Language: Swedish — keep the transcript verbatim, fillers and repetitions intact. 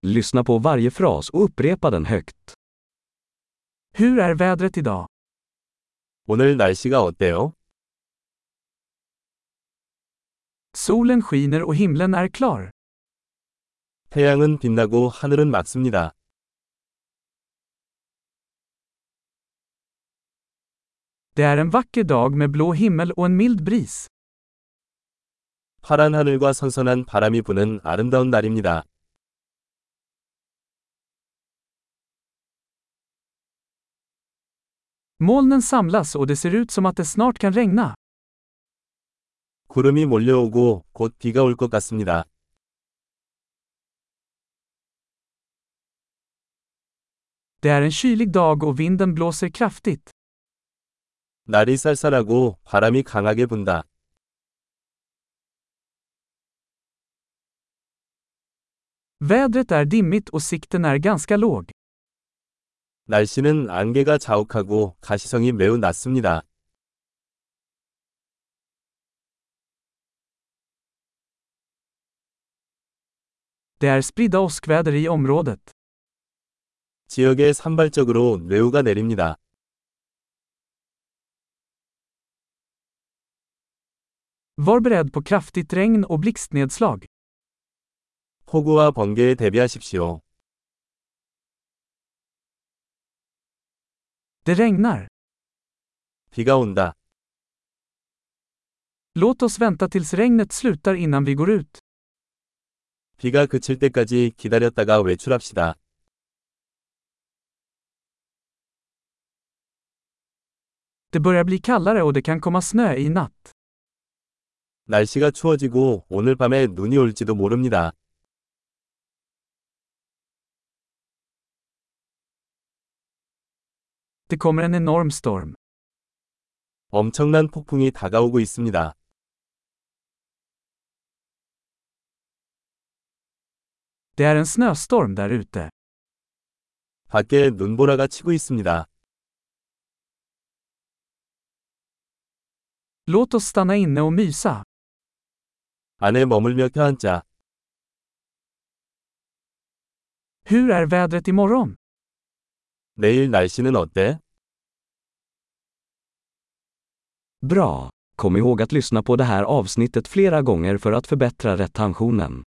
Lyssna på varje fras och upprepa den högt. Hur är vädret idag? 오늘 날씨가 어때요? Solen skiner och himlen är klar. 태양은 빛나고 하늘은 맑습니다. Det är en vacker dag med blå himmel och en mild bris. 파란 하늘과 선선한 바람이 부는 아름다운 날입니다. Molnen samlas och det ser ut som att det snart kan regna. 구름이 몰려오고 곧 비가 올 것 같습니다. Det är en kylig dag och vinden blåser kraftigt. 날이 쌀쌀하고 바람이 강하게 분다. Vädret är dimmigt och sikten är ganska låg. 날씨는 안개가 자욱하고 가시성이 매우 낮습니다. Det är spridda åskväder i området. 지역에 산발적으로 뇌우가 내립니다. Var beredd på kraftigt regn och blixtnedslag. 폭우와 번개에 대비하십시오. Det regnar. 비가 온다. Låt oss vänta tills regnet slutar innan vi går ut. 비가 그칠 때까지 기다렸다가 외출합시다. Det börjar bli kallare och det kan komma snö i natt. 날씨가 추워지고 오늘 밤에 눈이 올지도 모릅니다. Det kommer en enorm storm. 엄청난 폭풍이 다가오고 있습니다. Det är en snöstorm där ute. 밖에 눈보라가 치고 있습니다. Låt oss stanna inne och mysa. 안에 머물며 껴앉자. Hur är vädret imorgon? 내일 날씨는 어때? Bra! Kom ihåg att lyssna på det här avsnittet flera gånger för att förbättra retentionen.